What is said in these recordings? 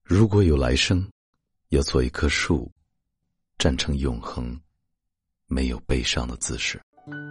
如果有来生，要做一棵树，站成永恒，没有悲伤的姿势。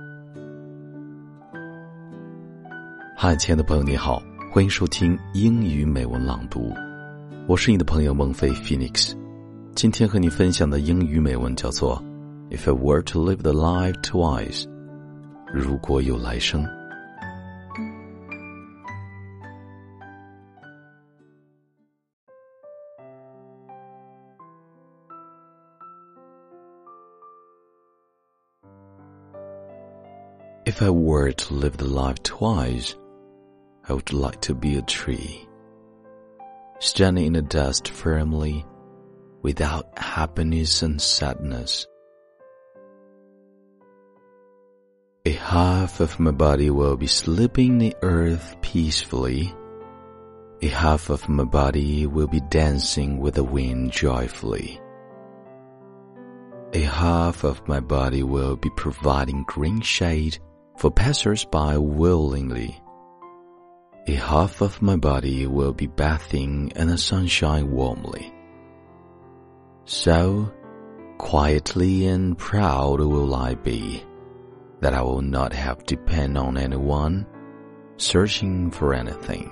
嗨，亲爱的朋友你好，欢迎收听英语美文朗读，我是你的朋友孟非 Phoenix。 今天和你分享的英语美文叫做 If I were to live the life twice， 如果有来生。If I were to live the life twice, I would like to be a tree, standing in the dust firmly, without happiness and sadness. A half of my body will be sleeping in the earth peacefully. A half of my body will be dancing with the wind joyfully. A half of my body will be providing green shade for passers-by willingly. A half of my body will be bathing in the sunshine warmly. So, quietly and proud will I be, that I will not have to depend on anyone, searching for anything.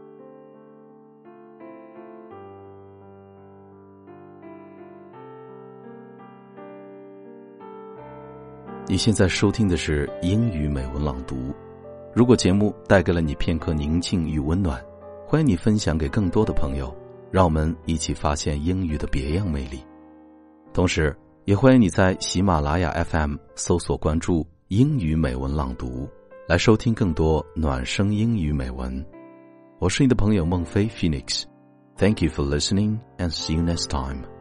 你现在收听的是英语美文朗读。如果节目带给了你片刻宁静与温暖，欢迎你分享给更多的朋友，让我们一起发现英语的别样魅力。同时也欢迎你在喜马拉雅 FM 搜索关注英语美文朗读，来收听更多暖声英语美文。我是你的朋友孟非 Phoenix。 Thank you for listening and see you next time.